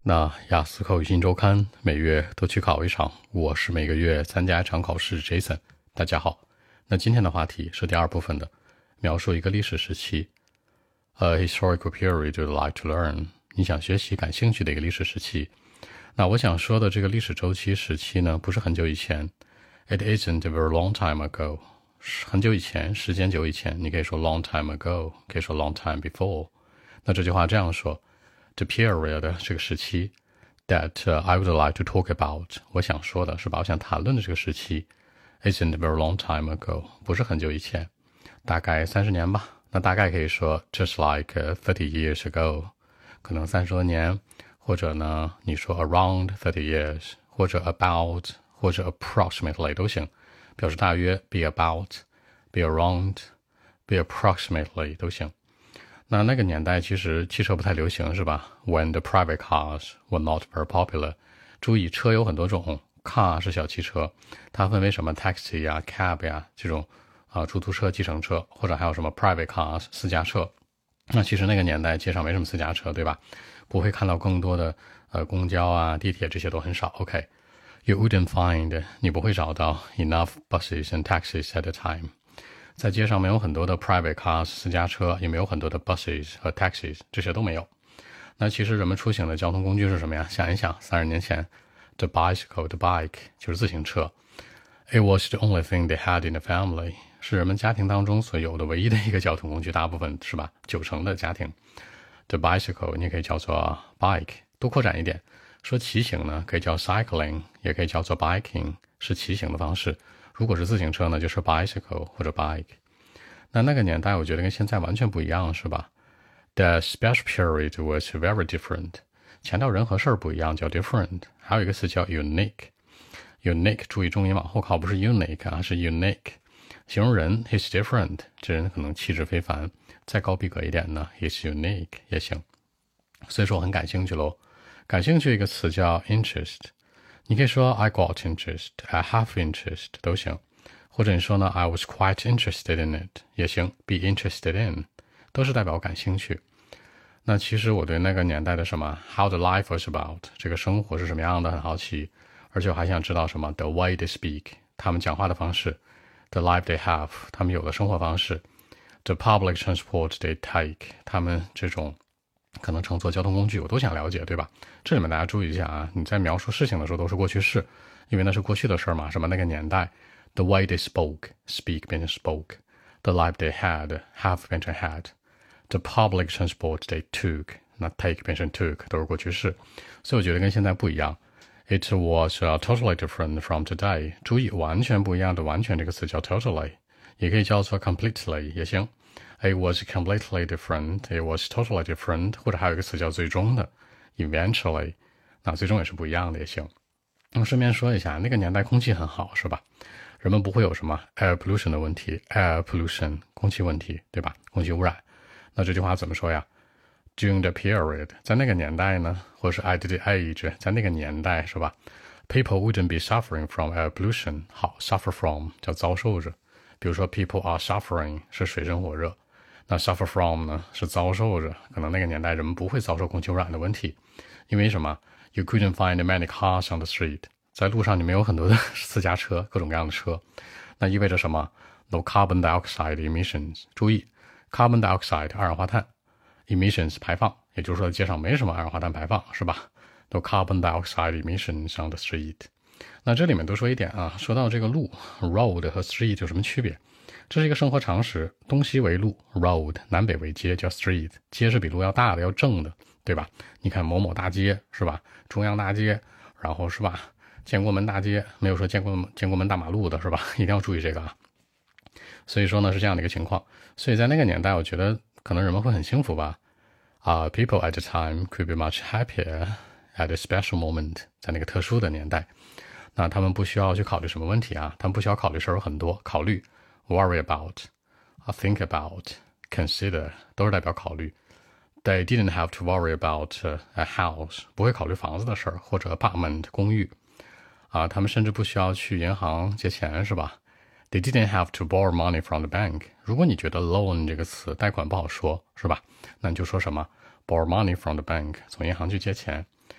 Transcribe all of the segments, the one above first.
那雅思口语新周刊每月都去考一场，我是每个月参加一场考试 Jason。大家好，那今天的话题是第二部分的，描述一个历史时期。A historical period you'd like to learn， 你想学习、感兴趣的一个历史时期。那我想说的这个历史周期时期呢，不是很久以前。It isn't a very long time ago， 很久以前，时间久以前，你可以说 long time ago， 可以说 long time before。那这句话这样说。The period 这个时期 that I would like to talk about， 我想说的是吧？我想谈论的这个时期 isn't a very long time ago， 不是很久以前，大概30年吧。那大概可以说 just like 30 years ago， 可能30多年，或者呢，你说 around 30 years， 或者 about， 或者 approximately 都行，表示大约 be about，be around，be approximately 都行。那个年代其实汽车不太流行是吧 ？When the private cars were not very popular。注意，车有很多种 ，car 是小汽车，它分为什么 taxi 呀、cab 呀这种出租车、计程车，或者还有什么 private cars 私家车。那其实那个年代街上没什么私家车，对吧？不会看到更多的公交啊、地铁这些都很少。OK，you wouldn't find 你不会找到 enough buses and taxis at the time。在街上没有很多的 private cars 私家车，也没有很多的 buses 和 taxis， 这些都没有。那其实人们出行的交通工具是什么呀？想一想，30年前 the bike 就是自行车。It was the only thing they had in the family， 是人们家庭当中所有的唯一的一个交通工具，大部分是吧？90%的家庭。The bicycle 你可以叫做 bike， 多扩展一点，说骑行呢可以叫 cycling， 也可以叫做 biking， 是骑行的方式。如果是自行车呢，就是 bicycle 或者 bike。那个年代我觉得跟现在完全不一样，是吧？ The special period was very different。强调人和事儿不一样，叫 different。还有一个词叫 unique。unique 注意重音往后靠，不是 unique 啊，是 unique。形容人 he's different， 这人可能气质非凡。再高逼格一点呢 he's unique 也行。所以说我很感兴趣咯。感兴趣一个词叫 interest。你可以说 I got interest， I have interest 都行，或者你说呢 I was quite interested in it 也行， be interested in 都是代表感兴趣。那其实我对那个年代的什么 how the life was about 这个生活是什么样的很好奇，而且我还想知道什么 the way they speak 他们讲话的方式， the life they have 他们有的生活方式， the public transport they take 他们这种可能乘坐交通工具，我都想了解，对吧？这里面大家注意一下啊，你在描述事情的时候都是过去式，因为那是过去的事嘛，什么那个年代 the way they speak 变成 spoke， the life they have 变成 had， the public transport they took， 那 take 变成 took 都是过去式，所以我觉得跟现在不一样。It was totally different from today。 注意，完全不一样的完全这个词叫 totally， 也可以叫做 completely 也行。It was completely different， It was totally different， 或者还有一个词叫最终的 eventually， 那最终也是不一样的也行。那么顺便说一下，那个年代空气很好是吧？人们不会有什么 air pollution 的问题， air pollution 空气问题，对吧？空气污染。那这句话怎么说呀？ During the period 在那个年代呢，或者是 at the age 在那个年代是吧？ People wouldn't be suffering from air pollution。 好， suffer from 叫遭受着，比如说 people are suffering 是水深火热，那 suffer from 呢是遭受着，可能那个年代人们不会遭受空气污染的问题，因为什么 ？You couldn't find many cars on the street， 在路上你没有很多的私家车，各种各样的车，那意味着什么 ？No carbon dioxide emissions。注意 ，carbon dioxide 二氧化碳 emissions 排放，也就是说街上没什么二氧化碳排放，是吧 ？No carbon dioxide emissions on the street。那这里面多说一点啊，说到这个路 road 和 street 有什么区别？这是一个生活常识，东西为路 road， 南北为街叫 street， 街是比路要大的要正的，对吧？你看某某大街是吧？中央大街，然后是吧？建国门大街，没有说建国门大马路的是吧？一定要注意这个啊。所以说呢是这样的一个情况，所以在那个年代我觉得可能人们会很幸福吧。People at the time could be much happier at a special moment， 在那个特殊的年代，那他们不需要去考虑什么问题啊？他们不需要考虑事儿有很多，考虑 worry about、think about、consider 都是代表考虑。They didn't have to worry about a house， 不会考虑房子的事儿，或者 apartment 公寓他们甚至不需要去银行借钱，是吧？ They didn't have to borrow money from the bank。 如果你觉得 loan 这个词贷款不好说，是吧？那你就说什么 borrow money from the bank， 从银行去借钱。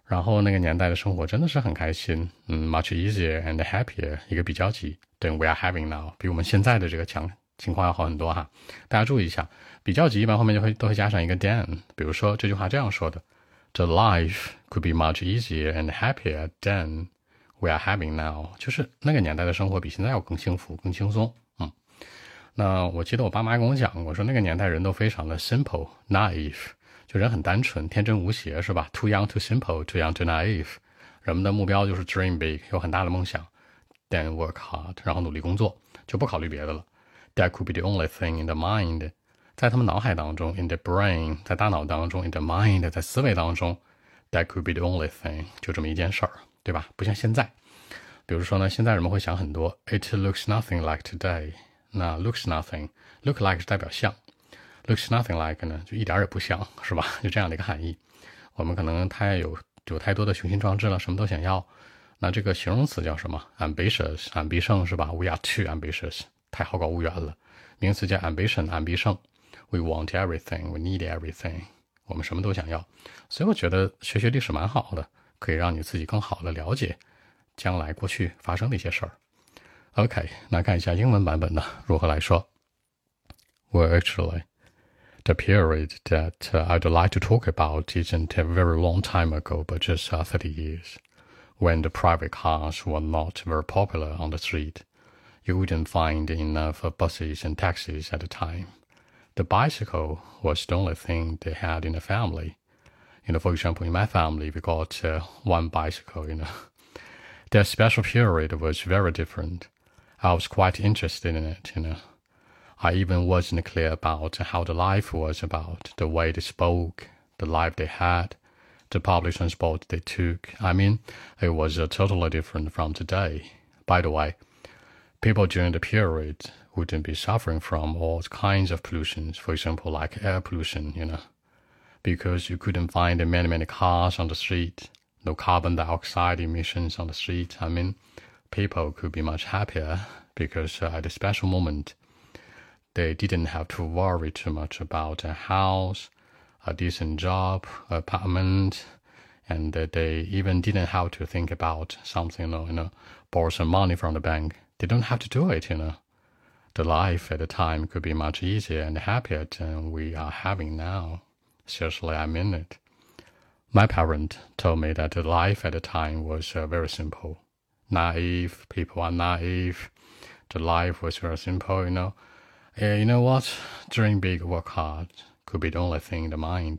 然后那个年代的生活真的是很开心，much easier and happier， 一个比较级，than we are having now， 比我们现在的这个情况要好很多哈。大家注意一下，比较级一般后面都会加上一个 than， 比如说这句话这样说的 ：The life could be much easier and happier than we are having now， 就是那个年代的生活比现在要更幸福、更轻松。那我记得我爸妈跟我讲过，说那个年代人都非常的 simple naive， 就人很单纯、天真无邪，是吧？ Too young, too simple, too young, too naive。人们的目标就是 dream big， 有很大的梦想 ，then work hard， 然后努力工作，就不考虑别的了。That could be the only thing in the mind， 在他们脑海当中 ，in the brain， 在大脑当中 ，in the mind， 在思维当中 ，that could be the only thing， 就这么一件事儿，对吧？不像现在，比如说呢，现在人们会想很多 ，it looks nothing like today。那 looks nothing， look like 是代表像 ，looks nothing like 呢就一点也不像，是吧？就这样的一个含义。我们可能有太多的雄心壮志了，什么都想要。那这个形容词叫什么 ？ambitious， 安必胜是吧 ？We are too ambitious， 太好高骛远了。名词叫 ambition， 安必胜。We want everything， we need everything， 我们什么都想要。所以我觉得学历史蛮好的，可以让你自己更好的了解将来过去发生的一些事儿。OK， 那看一下英文版本的如何来说。Well, actually, the period that I'd like to talk about isn't a very long time ago, but just 30 years, when the private cars were not very popular on the street. You wouldn't find enough buses and taxis at the time. The bicycle was the only thing they had in the family. For example, in my family, we got one bicycle, That special period was very different. I was quite interested in it, I even wasn't clear about how the life was about, the way they spoke, the life they had, the public transport they took. I mean, it was totally different from today. By the way, people during the period wouldn't be suffering from all kinds of pollutions, for example, like air pollution, because you couldn't find many cars on the street, no carbon dioxide emissions on the street. I mean, people could be much happier because at a special moment, they didn't have to worry too much about a house, a decent job, apartment, and they even didn't have to think about something, borrow some money from the bank. They don't have to do it, The life at the time could be much easier and happier than we are having now. Seriously, I mean it. My parent told me that the life at the time was very simple. Naive, people are naive. The life was very simple, You know what? Dream big, work hard could be the only thing in the mind.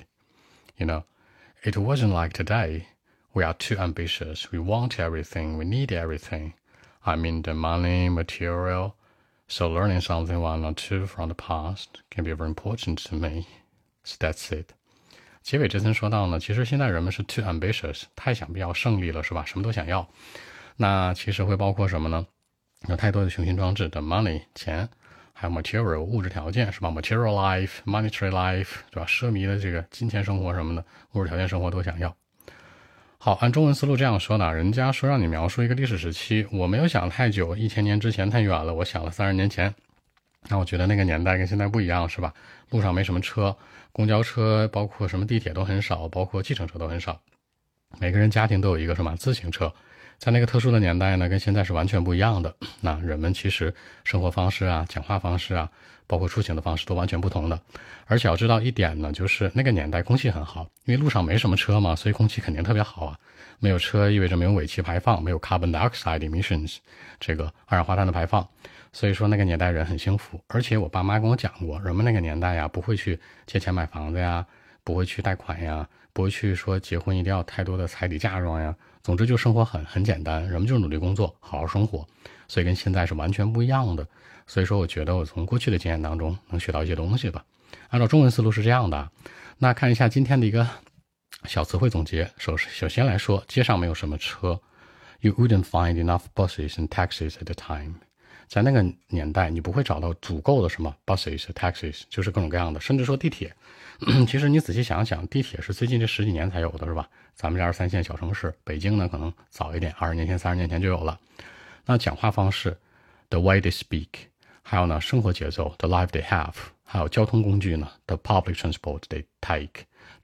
It wasn't like today. We are too ambitious. We want everything. We need everything. I mean the money, material. So learning something one or two from the past can be very important to me. So that's it. 结尾这层说到呢，其实现在人们是 too ambitious， 太想要胜利了，是吧？什么都想要。那其实会包括什么呢？有太多的雄心壮志的 money 钱，还有 material 物质条件，是吧 ？material life, monetary life， 对吧？奢靡的这个金钱生活什么的，物质条件生活都想要。好，按中文思路这样说呢，人家说让你描述一个历史时期，我没有想太久，1000年之前太远了，我想了30年前。那我觉得那个年代跟现在不一样，是吧？路上没什么车，公交车包括什么地铁都很少，包括计程车都很少。每个人家庭都有一个什么自行车。在那个特殊的年代呢，跟现在是完全不一样的。那人们其实生活方式啊、讲话方式啊，包括出行的方式都完全不同的。而且要知道一点呢，就是那个年代空气很好，因为路上没什么车嘛，所以空气肯定特别好啊。没有车意味着没有尾气排放，没有 carbon dioxide emissions， 这个二氧化碳的排放。所以说那个年代人很幸福。而且我爸妈跟我讲过，人们那个年代呀，不会去借钱买房子呀，不会去贷款呀，不会去说结婚一定要太多的彩礼嫁妆呀。总之就生活很简单，人们就是努力工作，好好生活，所以跟现在是完全不一样的。所以说我觉得我从过去的经验当中能学到一些东西吧。按照中文思路是这样的，那看一下今天的一个小词汇总结。首先来说，街上没有什么车 You wouldn't find enough buses and taxis at the time。 在那个年代你不会找到足够的什么 buses taxis， 就是各种各样的，甚至说地铁其实你仔细想想，地铁是最近这10几年才有的，是吧？咱们这2、3线小城市，北京呢可能早一点，20年前、30年前就有了。那讲话方式 the way they speak， 还有呢生活节奏 the life they have， 还有交通工具呢 the public transport they take，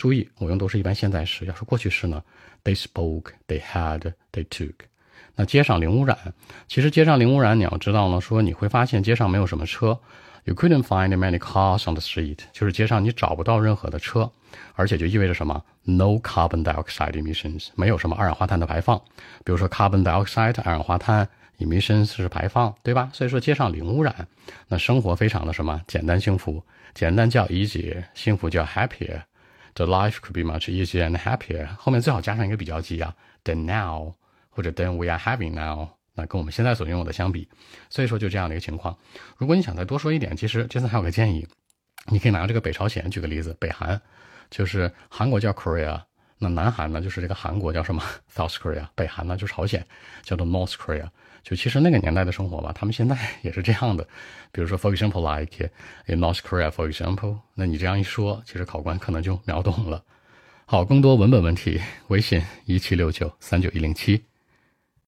注意，我用都是一般现在时。要说过去式呢 ，they spoke, they had, they took。那街上零污染，其实街上零污染，你要知道呢，说你会发现街上没有什么车。You couldn't find many cars on the street， 就是街上你找不到任何的车，而且就意味着什么 ？No carbon dioxide emissions， 没有什么二氧化碳的排放。比如说 carbon dioxide 二氧化碳 emissions 是排放，对吧？所以说街上零污染，那生活非常的什么简单幸福，简单叫 easy， 幸福叫 happier。The life could be much easier and happier。后面最好加上一个比较级啊 ，than now 或者 than we are having now。那跟我们现在所拥有的相比，所以说就这样的一个情况。如果你想再多说一点，其实Jason还有个建议，你可以拿这个北朝鲜举个例子，北韩就是韩国叫 Korea， 那南韩呢就是这个韩国叫什么 South Korea， 北韩呢就是朝鲜叫做 North Korea。就其实那个年代的生活吧，他们现在也是这样的。比如说 for example like in North Korea for example， 那你这样一说，其实考官可能就秒懂了。好，更多文本问题，微信176939107107。